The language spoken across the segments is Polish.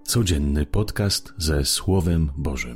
Codzienny podcast ze Słowem Bożym.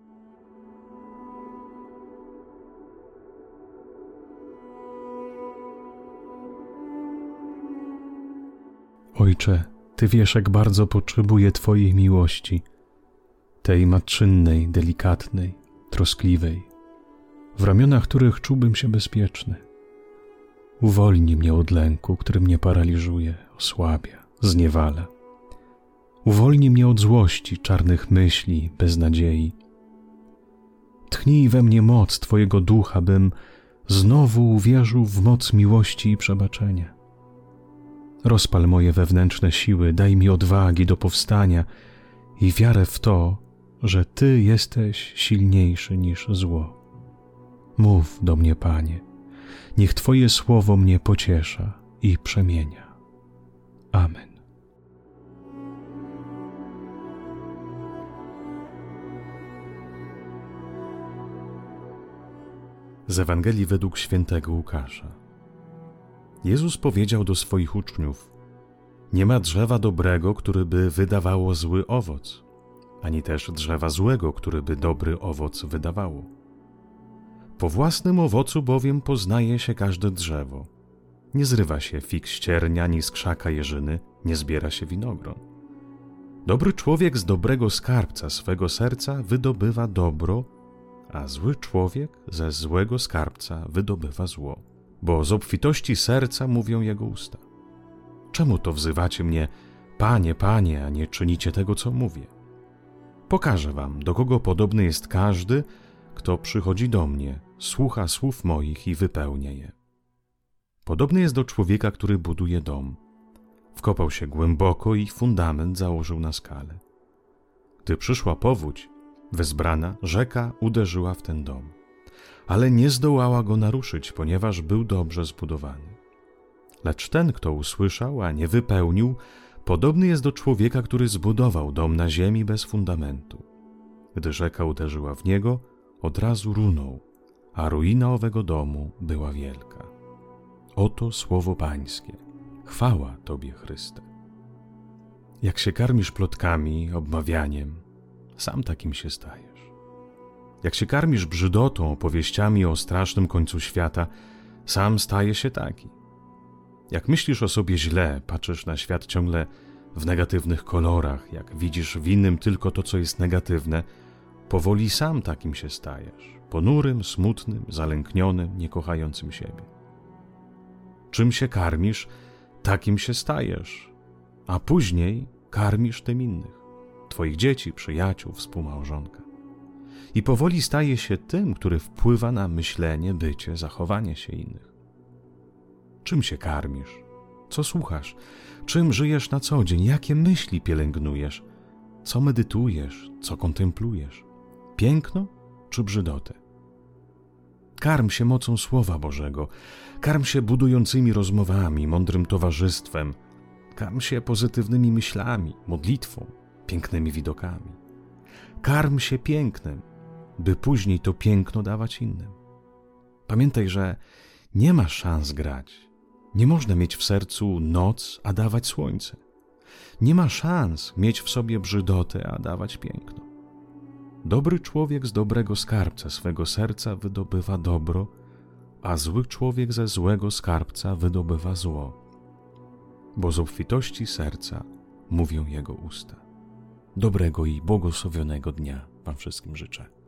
Ojcze, Ty wiesz, jak bardzo potrzebuję Twojej miłości, tej matczynnej, delikatnej, troskliwej, w ramionach których czułbym się bezpieczny. Uwolnij mnie od lęku, który mnie paraliżuje, osłabia, zniewala. Uwolnij mnie od złości, czarnych myśli, beznadziei. Tchnij we mnie moc Twojego ducha, bym znowu uwierzył w moc miłości i przebaczenia. Rozpal moje wewnętrzne siły, daj mi odwagi do powstania i wiarę w to, że Ty jesteś silniejszy niż zło. Mów do mnie, Panie, niech Twoje słowo mnie pociesza i przemienia. Amen. Z Ewangelii według świętego Łukasza. Jezus powiedział do swoich uczniów: nie ma drzewa dobrego, które by wydawało zły owoc, ani też drzewa złego, które by dobry owoc wydawało. Po własnym owocu bowiem poznaje się każde drzewo. Nie zrywa się fig z ciernia, ani z krzaka jeżyny, nie zbiera się winogron. Dobry człowiek z dobrego skarbca swego serca wydobywa dobro, a zły człowiek ze złego skarbca wydobywa zło, bo z obfitości serca mówią jego usta. Czemu to wzywacie mnie, Panie, Panie, a nie czynicie tego, co mówię? Pokażę wam, do kogo podobny jest każdy, kto przychodzi do mnie, słucha słów moich i wypełnia je. Podobny jest do człowieka, który buduje dom. Wkopał się głęboko i fundament założył na skale. Gdy przyszła powódź, wezbrana rzeka uderzyła w ten dom, ale nie zdołała go naruszyć, ponieważ był dobrze zbudowany. Lecz ten, kto usłyszał, a nie wypełnił, podobny jest do człowieka, który zbudował dom na ziemi bez fundamentu. Gdy rzeka uderzyła w niego, od razu runął, a ruina owego domu była wielka. Oto słowo Pańskie. Chwała Tobie, Chryste. Jak się karmisz plotkami, obmawianiem, sam takim się stajesz. Jak się karmisz brzydotą, opowieściami o strasznym końcu świata, sam staje się taki. Jak myślisz o sobie źle, patrzysz na świat ciągle w negatywnych kolorach, jak widzisz w innym tylko to, co jest negatywne, powoli sam takim się stajesz. Ponurym, smutnym, zalęknionym, niekochającym siebie. Czym się karmisz, takim się stajesz, a później karmisz tym innych. Twoich dzieci, przyjaciół, współmałżonka. I powoli staje się tym, który wpływa na myślenie, bycie, zachowanie się innych. Czym się karmisz? Co słuchasz? Czym żyjesz na co dzień? Jakie myśli pielęgnujesz? Co medytujesz? Co kontemplujesz? Piękno czy brzydotę? Karm się mocą Słowa Bożego. Karm się budującymi rozmowami, mądrym towarzystwem. Karm się pozytywnymi myślami, modlitwą, pięknymi widokami. Karm się pięknem, by później to piękno dawać innym. Pamiętaj, że nie ma szans grać. Nie można mieć w sercu noc, a dawać słońce. Nie ma szans mieć w sobie brzydotę, a dawać piękno. Dobry człowiek z dobrego skarbca swego serca wydobywa dobro, a zły człowiek ze złego skarbca wydobywa zło. Bo z obfitości serca mówią jego usta. Dobrego i błogosławionego dnia wam wszystkim życzę.